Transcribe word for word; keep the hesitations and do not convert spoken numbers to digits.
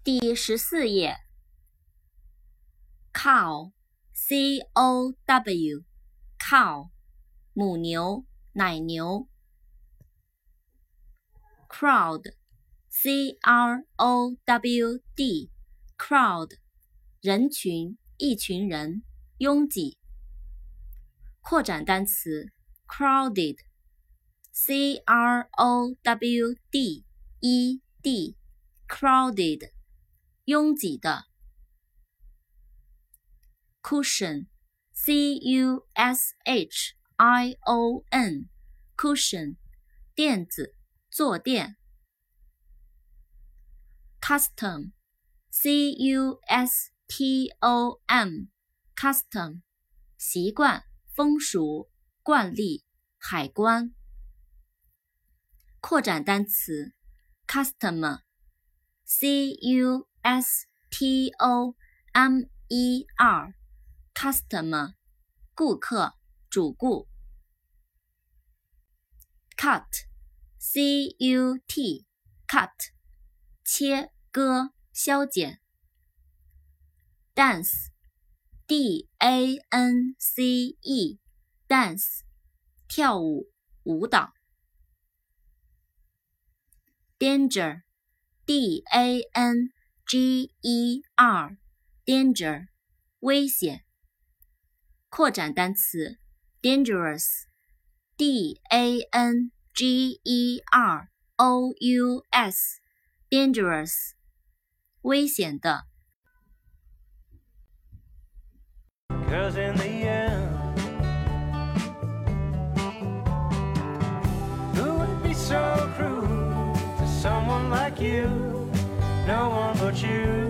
第十四页 cow C O W cow 母牛奶牛 crowd C R O W D crowd 人群一群人拥挤扩展单词 crowded C R O W D E D crowded 拥挤的 cushion C U S H I O N cushion 垫子坐垫 custom C U S T O M custom 习惯风俗惯例海关扩展单词 customer C U S T O M E R customer 顾客主顾 cut C U T cut 切割削减 dance D A N C E dance 跳舞舞蹈 danger D A N G E R danger 危险扩展单词 dangerous D A N G E R O U S dangerous 危险的 'Cause in the end, who would be so cruel to someone like you? No one but you.